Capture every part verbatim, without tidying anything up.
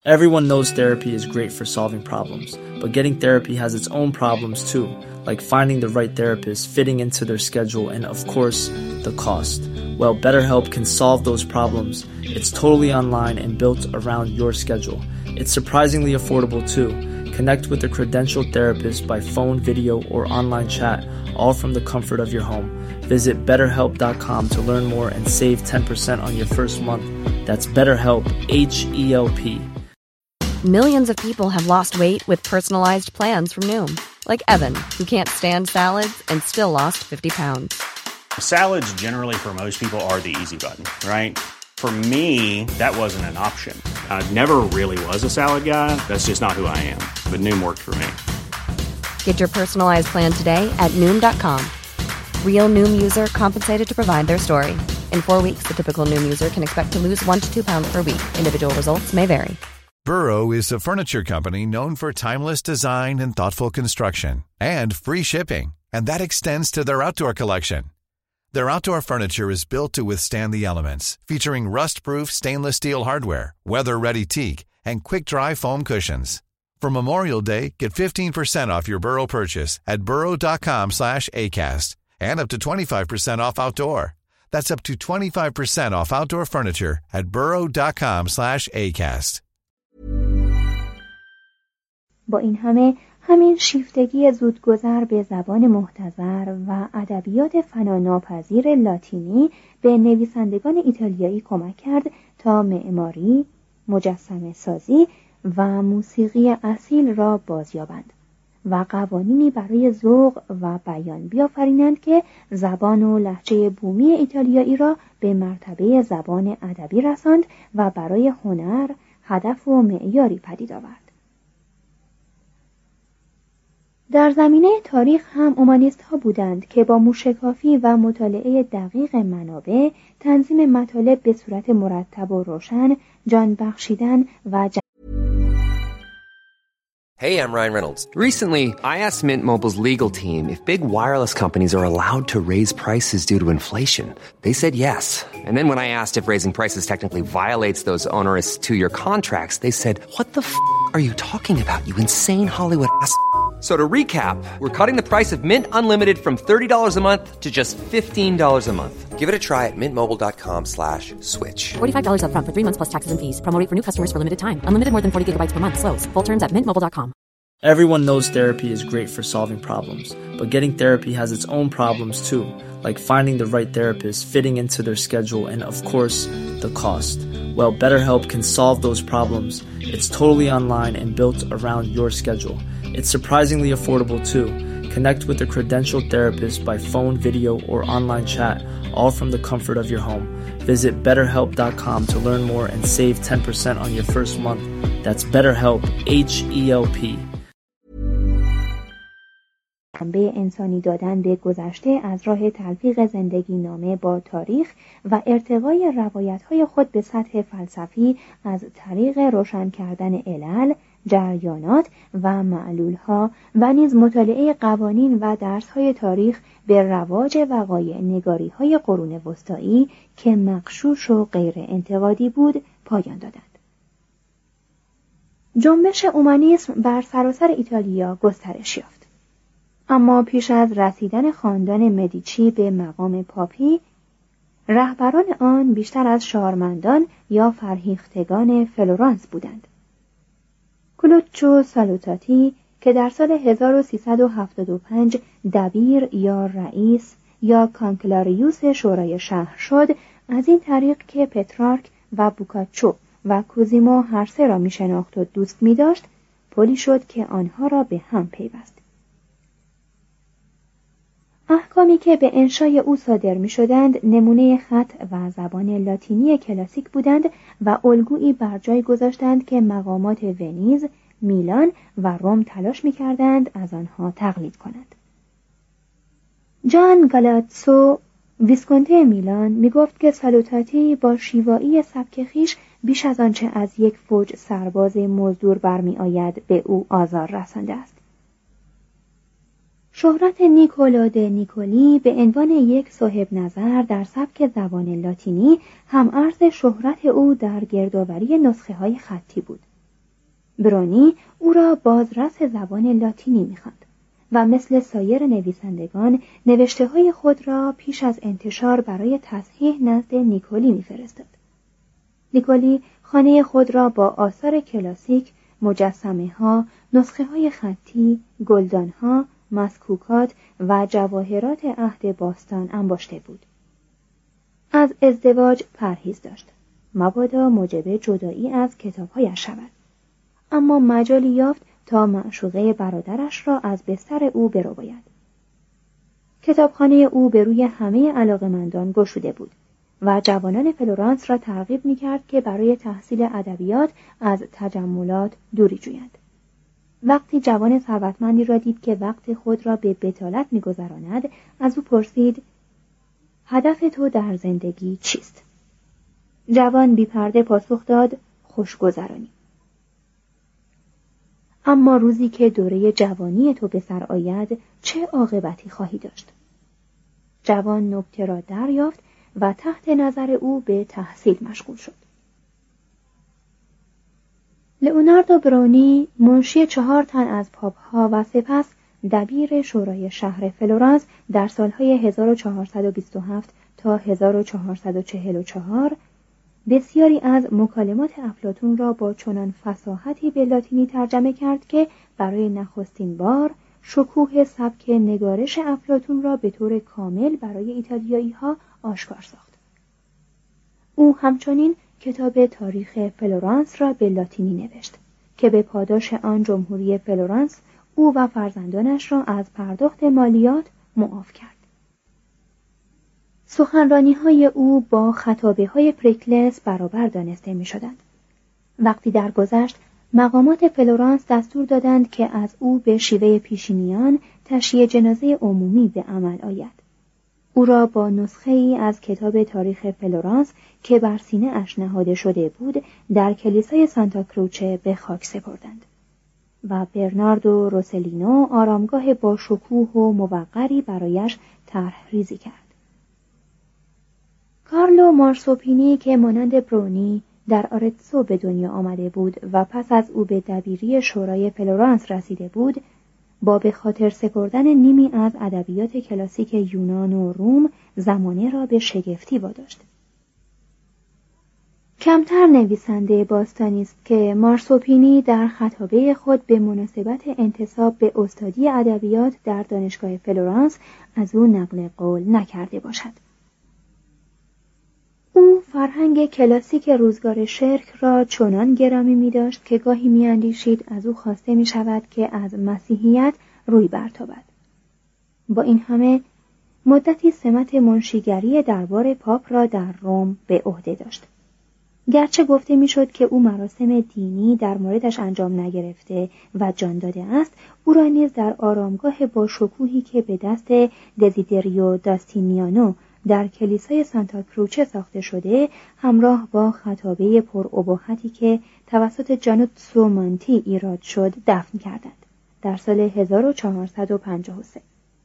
Everyone knows therapy is great for solving problems, but getting therapy has its own problems too, like finding the right therapist, fitting into their schedule, and of course, the cost. Well, BetterHelp can solve those problems. It's totally online and built around your schedule. It's surprisingly affordable too. Connect with a credentialed therapist by phone, video, or online chat, all from the comfort of your home. Visit better help dot com to learn more and save ten percent on your first month. That's BetterHelp, H E L P. Millions of people have lost weight with personalized plans from Noom. Like Evan, who can't stand salads and still lost fifty pounds. Salads generally for most people are the easy button, right? For me, that wasn't an option. I never really was a salad guy. That's just not who I am. But Noom worked for me. Get your personalized plan today at Noom dot com. Real Noom user compensated to provide their story. In four weeks, the typical Noom user can expect to lose one to two pounds per week. Individual results may vary. Burrow is a furniture company known for timeless design and thoughtful construction, and free shipping, and that extends to their outdoor collection. Their outdoor furniture is built to withstand the elements, featuring rust-proof stainless steel hardware, weather-ready teak, and quick-dry foam cushions. For Memorial Day, get fifteen percent off your Burrow purchase at burrow dot com slash acast, and up to twenty-five percent off outdoor. That's up to twenty-five percent off outdoor furniture at burrow dot com slash acast. با این همه همین شیفتگی زودگذر به زبان محتضر و ادبیات فناناپذیر لاتینی به نویسندگان ایتالیایی کمک کرد تا معماری، مجسمه سازی و موسیقی اصیل را بازیابند و قوانینی برای ذوق و بیان بیافرینند که زبان و لهجه بومی ایتالیایی را به مرتبه زبان ادبی رساند و برای هنر هدف و معیاری پدید آورد. در زمینه تاریخ هم اومانیست ها بودند که با موشکافی و مطالعه دقیق منابع، تنظیم مطالب به صورت مرتب و روشن، جان بخشیدن و جان... Hey, I'm Ryan Reynolds. Recently, I asked Mint Mobile's legal team if big wireless companies are allowed to raise prices due to inflation. They said yes. And then when I asked if raising prices technically violates those onerous two-year contracts, they said, what the f*** are you talking about, you insane Hollywood ass f- So to recap, we're cutting the price of Mint Unlimited from thirty dollars a month to just fifteen dollars a month. Give it a try at mintmobile.com slash switch. forty-five dollars up front for three months plus taxes and fees. Promo rate for new customers for limited time. Unlimited more than forty gigabytes per month. Slows full terms at mint mobile dot com. Everyone knows therapy is great for solving problems, but getting therapy has its own problems too, like finding the right therapist, fitting into their schedule, and of course, the cost. Well, BetterHelp can solve those problems. It's totally online and built around your schedule. It's surprisingly affordable too. Connect with a credentialed therapist by phone, video, or online chat, all from the comfort of your home. Visit better help dot com to learn more and save ten percent on your first month. That's BetterHelp, H E L P. به انسانی دادن به گذشته از راه تلفیق زندگی نامه با تاریخ و ارتقای روایت‌های خود به سطح فلسفی از طریق روشن کردن علل، جریانات و معلول‌ها و نیز مطالعه قوانین و درس‌های تاریخ به رواج وقایع نگاری‌های قرون وسطایی که مغشوش و غیر انتقادی بود پایان دادند. جنبش اومانیسم بر سراسر ایتالیا گسترش یافت. اما پیش از رسیدن خاندان مدیچی به مقام پاپی، رهبران آن بیشتر از شارمندان یا فرهیختگان فلورانس بودند. کلوچو سالوتاتی که در سال هزار و سیصد و هفتاد و پنج دبیر یا رئیس یا کانکلاریوس شورای شهر شد، از این طریق که پترارک و بوکاچو و کوزیمو هر سه را می شناخت و دوست می داشت، پلی شد که آنها را به هم پیوست. احکامی که به انشای او صادر می شدند نمونه خط و زبان لاتینی کلاسیک بودند و الگویی بر جای گذاشتند که مقامات ونیز، میلان و روم تلاش می کردند از آنها تقلید کنند. جان گالاتسو ویسکونته میلان می گفت که سالوتاتی با شیوایی سبک خویش بیش از آنچه از یک فوج سرباز مزدور برمی آید به او آزار رسانده است. شهرت نیکولو د نیکولی به عنوان یک صاحب نظر در سبک زبان لاتینی هم عرض شهرت او در گردآوری نسخه های خطی بود. برونی او را بازرس زبان لاتینی می‌خواند و مثل سایر نویسندگان نوشته‌های خود را پیش از انتشار برای تصحیح نزد نیکولی می‌فرستاد. نیکولی خانه خود را با آثار کلاسیک، مجسمه‌ها، نسخه‌های خطی، گلدان‌ها، مسکوکات و جواهرات عهد باستان انباشته بود. از ازدواج پرهیز داشت، مبادا موجب جدایی از کتاب‌هایش شود. اما مجالی یافت تا معشوقه برادرش را از بستر او برباید. کتابخانه او به روی همه علاقه‌مندان گشوده بود و جوانان فلورانس را ترغیب می‌کرد که برای تحصیل ادبیات از تجملات دوری جویند. وقتی جوان ثروتمندی را دید که وقت خود را به بطالت می‌گذراند، از او پرسید: هدف تو در زندگی چیست؟ جوان بی پرده پاسخ داد: خوشگذرانی. اما روزی که دوره جوانی تو به سر آید چه عاقبتی خواهی داشت؟ جوان نکته را دریافت و تحت نظر او به تحصیل مشغول شد. لئوناردو برونی منشی چهار تن از پاپ‌ها و سپس دبیر شورای شهر فلورانس در سالهای هزار و چهارصد و بیست و هفت تا هزار و چهارصد و چهل و چهار بسیاری از مکالمات افلاطون را با چنان فصاحتی به لاتینی ترجمه کرد که برای نخستین بار شکوه سبک نگارش افلاطون را به طور کامل برای ایتالیایی‌ها آشکار ساخت. او همچنین کتاب تاریخ فلورانس را به لاتینی نوشت که به پاداش آن جمهوری فلورانس او و فرزندانش را از پرداخت مالیات معاف کرد. سخنرانی‌های او با خطابه‌های پریکلس برابر دانسته می‌شدند. وقتی درگذشت مقامات فلورانس دستور دادند که از او به شیوه پیشینیان تشییع جنازه عمومی به عمل آید. او را با نسخه‌ای از کتاب تاریخ فلورانس که بر سینه اش نهاده شده بود در کلیسای سانتا کروچه به خاک سپردند و برناردو روسلینو آرامگاه با شکوه و موقری برایش طرح ریزی کرد. کارلو مارسوپینی که مانند برونی در آرتسو به دنیا آمده بود و پس از او به دبیری شورای فلورانس رسیده بود، با به خاطر سپردن نیمی از ادبیات کلاسیک یونان و روم زمانه را به شگفتی واداشت. کمتر نویسنده باستانی است که مارسوپینی در خطابه خود به مناسبت انتساب به استادی ادبیات در دانشگاه فلورانس از او نقل قول نکرده باشد. او فرهنگ کلاسیک روزگار شرک را چنان گرامی می داشت که گاهی می اندیشید از او خواسته می شود که از مسیحیت روی برتابد. با این همه مدتی سمت منشیگری دربار پاپ را در روم به عهده داشت. گرچه گفته می شد که او مراسم دینی در موردش انجام نگرفته و جان داده است، او را نیز در آرامگاه با شکوهی که به دست دزیدریو داستینیانو در کلیسای سانتا کروچه ساخته شده همراه با خطابه پرابهتی که توسط جانوتسو مانتی ایراد شد دفن کردند در سال هزار و چهارصد و پنجاه و سه.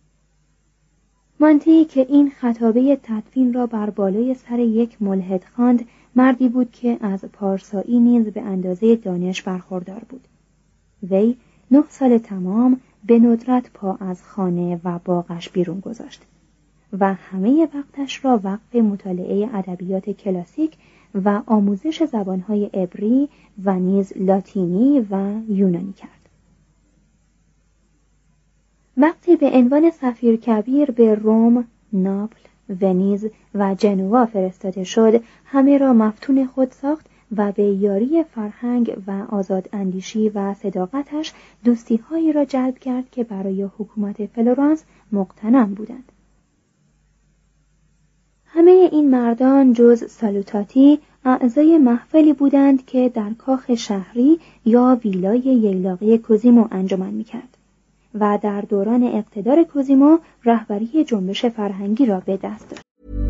مانتی که این خطابه تدفین را بر بالای سر یک ملحد خواند، مردی بود که از پارسایی نیز به اندازه دانش برخوردار بود. وی نه سال تمام به ندرت پا از خانه و باغش بیرون گذاشت و همه وقتش را وقف مطالعه ادبیات کلاسیک و آموزش زبانهای عبری و نیز لاتینی و یونانی کرد. وقتی به عنوان سفیر کبیر به روم، ناپل، ونیز و جنوا فرستاده شد، همه را مفتون خود ساخت و به یاری فرهنگ و آزاد اندیشی و صداقتش دوستی‌هایی را جلب کرد که برای حکومت فلورانس مقتنم بودند. همه این مردان جز سالوتاتی اعضای محفلی بودند که در کاخ شهری یا ویلای ییلاقی کوزیمو انجمن می‌کرد و در دوران اقتدار کوزیمو رهبری جنبش فرهنگی را به دست داشت.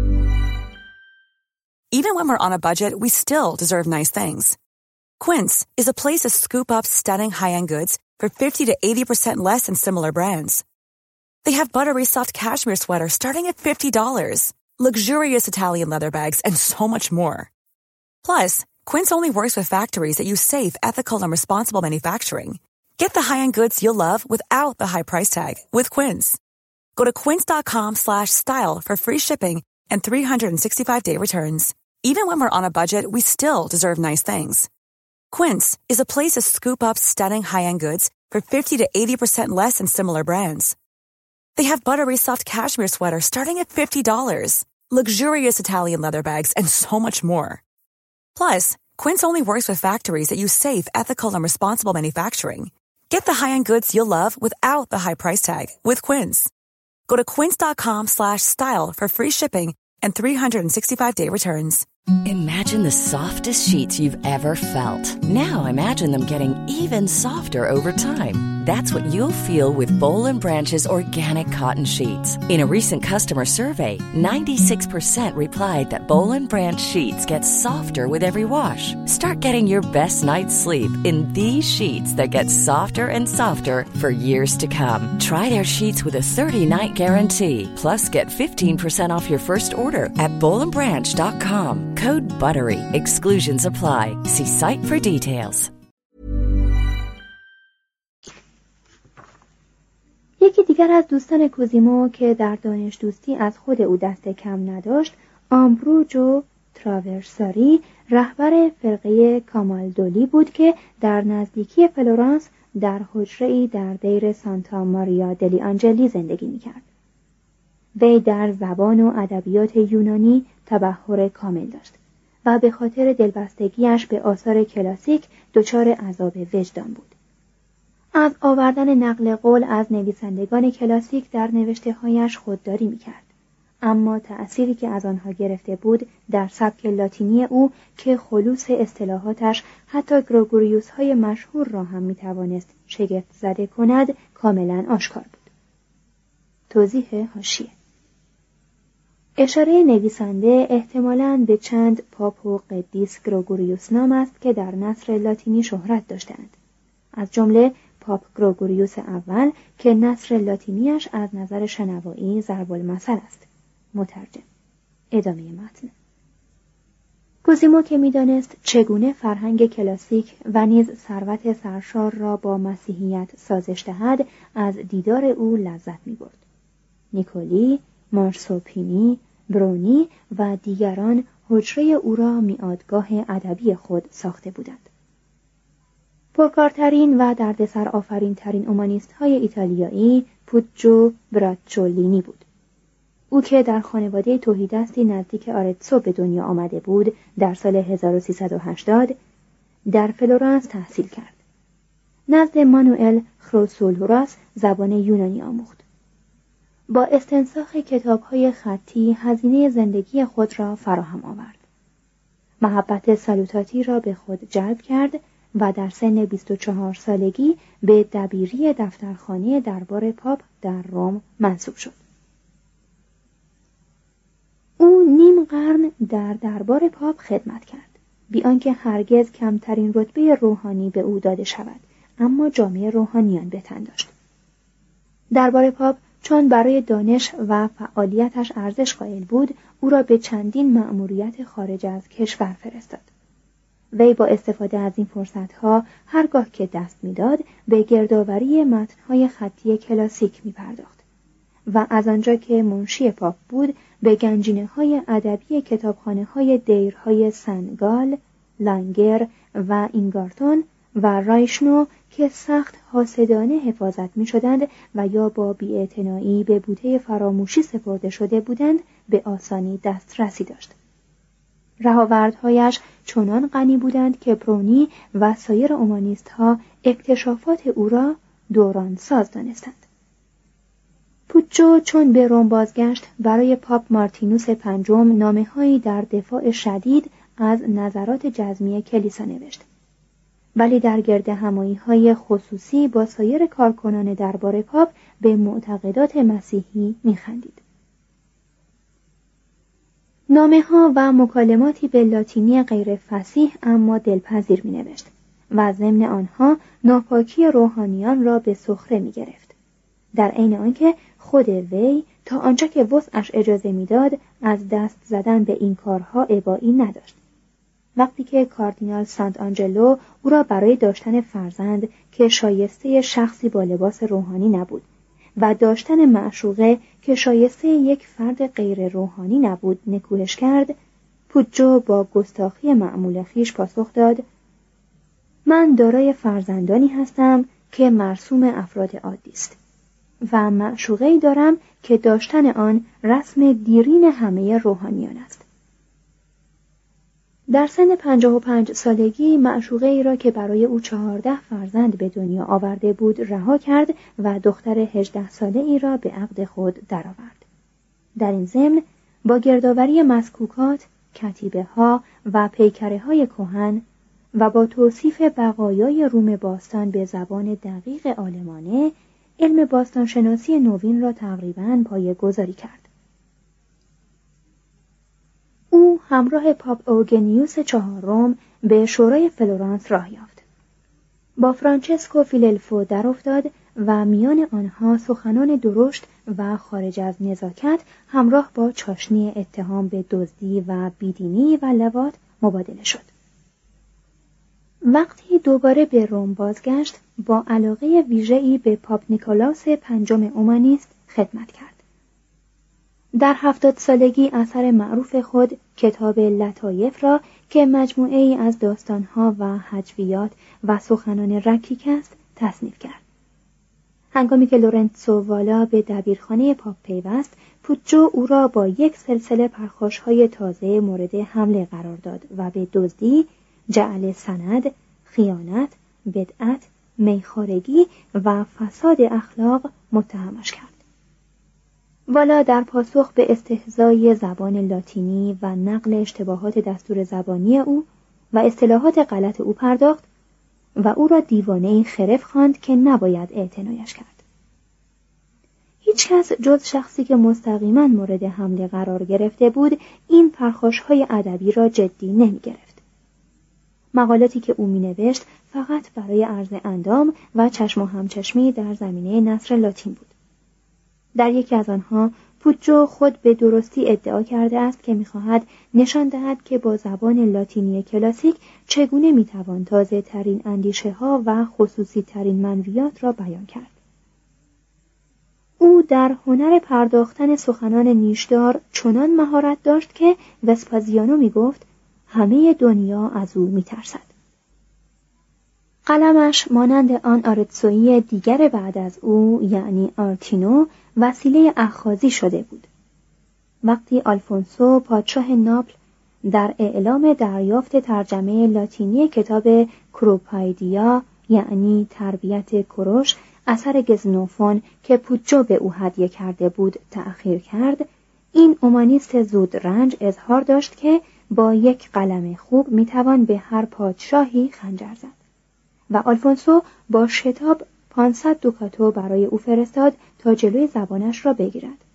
Even when we're on a budget, we still deserve nice things. Quince is a place to scoop up stunning high-end goods for fifty to eighty percent less than similar brands. They have buttery soft cashmere sweaters starting at fifty dollars, luxurious Italian leather bags, and so much more. Plus, Quince only works with factories that use safe, ethical, and responsible manufacturing. Get the high-end goods you'll love without the high price tag with Quince. Go to quince.com slash style for free shipping and three sixty-five day returns. Even when we're on a budget, we still deserve nice things. Quince is a place to scoop up stunning high-end goods for fifty to eighty percent less than similar brands. They have buttery soft cashmere sweaters starting at fifty dollars, luxurious Italian leather bags, and so much more. Plus, Quince only works with factories that use safe, ethical, and responsible manufacturing. Get the high-end goods you'll love without the high price tag with Quince. Go to quince.com slash style for free shipping and three sixty-five day returns. Imagine the softest sheets you've ever felt. Now imagine them getting even softer over time. That's what you'll feel with Boll and Branch's organic cotton sheets. In a recent customer survey, ninety-six percent replied that Boll and Branch sheets get softer with every wash. Start getting your best night's sleep in these sheets that get softer and softer for years to come. Try their sheets with a thirty night guarantee. Plus, get fifteen percent off your first order at boll and branch dot com. Code BUTTERY. Exclusions apply. See site for details. یکی دیگر از دوستان کوزیمو که در دانش دوستی از خود او دست کم نداشت، آمبروجو تراورساری، رهبر فرقه کامالدولی بود که در نزدیکی فلورانس در حجره‌ای در دیر سانتا ماریا دلی آنجلی زندگی می‌کرد. وی در زبان و ادبیات یونانی تبحر کامل داشت و به خاطر دلبستگیش به آثار کلاسیک دچار عذاب وجدان بود. از آوردن نقل قول از نویسندگان کلاسیک در نوشته‌هایش خودداری می‌کرد، اما تأثیری که از آنها گرفته بود در سبک لاتینی او که خلوص اصطلاحاتش حتی گروگوریوس‌های مشهور را هم می‌توانست شگفت زده کند کاملاً آشکار بود. توضیح حاشیه: اشاره نویسنده احتمالاً به چند پاپ و قدیس گروگوریوس نام است که در نثر لاتینی شهرت داشتند، از جمله پاپ گروگوریوس اول که نثر لاتینیش از نظر شنوایی ضرب المثل است. مترجم. ادامه متن. کوزیمو که می‌دانست چگونه فرهنگ کلاسیک و نیز ثروت سرشار را با مسیحیت سازش دهد، از دیدار او لذت می‌برد. نیکولی، مارسوپینی، برونی و دیگران حجره او را میادگاه ادبی خود ساخته بودند. پرکارترین و دردسر آفرین ترین اومانیست های ایتالیایی پوجو براچولینی بود. او که در خانواده تهیدستی نزدیک آرتسو به دنیا آمده بود، در سال هزار و سیصد و هشتاد در فلورانس تحصیل کرد. نزد مانوئل خروسولوراس زبان یونانی آموخت. با استنساخ کتاب‌های خطی هزینه زندگی خود را فراهم آورد. محبت سالوتاتی را به خود جلب کرد و در سن بیست و چهار سالگی به دبیری دفترخانه دربار پاپ در روم منصوب شد. او نیم قرن در دربار پاپ خدمت کرد، بی آنکه هرگز کمترین رتبه روحانی به او داده شود، اما جامعه روحانیان به تن داشت. دربار پاپ چون برای دانش و فعالیتش ارزش قائل بود، او را به چندین مأموریت خارج از کشور فرستاد. وی با استفاده از این فرصتها هرگاه که دست می‌داد به گردآوری متن‌های خطی کلاسیک می‌پرداخت و از آنجا که منشی پاپ بود به گنجینه‌های ادبی کتابخانه‌های دیرهای سنگال، لانگر و اینگارتون و رایشنو که سخت حاسدانه حفاظت می‌شدند و یا با بی‌اعتنایی به بوته فراموشی سپرده شده بودند به آسانی دسترسی داشت. رهاوردهایش چنان غنی بودند که برونی و سایر اومانیست‌ها اکتشافات او را دورانساز دانستند. پوچو چون به روم بازگشت برای پاپ مارتینوس پنجم نامه‌هایی در دفاع شدید از نظرات جزمی کلیسا نوشت، ولی در گرد همایی‌های خصوصی با سایر کارکنان دربار پاپ به معتقدات مسیحی می‌خندید. نامه‌ها و مکالماتی به لاتینی غیر فصیح اما دلپذیر می‌نوشت و ضمن آنها ناپاکی روحانیان را به سخره می‌گرفت، در عین آنکه خود وی تا آنجا که وسعش اجازه می‌داد از دست زدن به این کارها ابایی نداشت. وقتی که کاردینال سانت آنجلو او را برای داشتن فرزند که شایسته شخصی با لباس روحانی نبود و داشتن معشوقه که شایسته یک فرد غیر روحانی نبود نکوهش کرد، پوجو با گستاخی معمول خیش پاسخ داد: من دارای فرزندانی هستم که مرسوم افراد عادی است و معشوقه‌ای دارم که داشتن آن رسم دیرین همه روحانیان است. در سن پنجاه و پنج سالگی معشوقه‌ای را که برای او چهارده فرزند به دنیا آورده بود رها کرد و دختر هجده ساله ای را به عقد خود درآورد. در این ضمن با گردآوری مسکوکات، کتیبه ها و پیکره های کهن و با توصیف بقایای روم باستان به زبان دقیق آلمانه، علم باستانشناسی نوین را تقریباً پایه‌گذاری کرد. او همراه پاپ اوگنیوس چهارم به شورای فلورانس راه یافت. با فرانچسکو فیللفو در افتاد و میان آنها سخنان درشت و خارج از نزاکت همراه با چاشنی اتهام به دزدی و بیدینی و لواط مبادله شد. وقتی دوباره به روم بازگشت، با علاقه ویژه‌ای به پاپ نیکولاس پنجم اومانیست خدمت کرد. در هفتاد سالگی اثر معروف خود کتاب لطایف را که مجموعه ای از داستانها و هجویات و سخنان رکیک است تصنیف کرد. هنگامی که لورنسو والا به دبیرخانه پاپ پیوست، پوچو او را با یک سلسله پرخاش‌های تازه مورد حمله قرار داد و به دزدی، جعل سند، خیانت، بدعت، میخوارگی و فساد اخلاق متهمش کرد. والا در پاسخ به استهزای زبان لاتینی و نقل اشتباهات دستور زبانی او و اصطلاحات غلط او پرداخت و او را دیوانه‌ای خرف خواند که نباید اعتنایش کرد. هیچ کس جز شخصی که مستقیما مورد حمله قرار گرفته بود این پرخاش‌های ادبی را جدی نمی گرفت. مقالاتی که او می نوشت فقط برای عرض اندام و چشم و همچشمی در زمینه نثر لاتین بود. در یکی از آنها پوچو خود به درستی ادعا کرده است که می‌خواهد نشان دهد که با زبان لاتینی کلاسیک چگونه می‌توان تازه‌ترین اندیشه‌ها و خصوصی‌ترین منویات را بیان کرد. او در هنر پرداختن سخنان نیشدار چنان مهارت داشت که وسپازیانو می‌گفت همه دنیا از او می‌ترسد. قلمش مانند آن آرتسویی دیگر بعد از او یعنی آرتینو وسیله اخاذی شده بود. وقتی آلفونسو پادشاه ناپل در اعلام دریافت ترجمه لاتینی کتاب کروپایدیا یعنی تربیت کوروش اثر گزنوفون که پوچو به او هدیه کرده بود تأخیر کرد، این اومانیست زود رنج اظهار داشت که با یک قلم خوب میتوان به هر پادشاهی خنجر زد و آلفونسو با شتاب پانصد دوکاتو برای او فرستاد تا جلوی زبانش را بگیرد.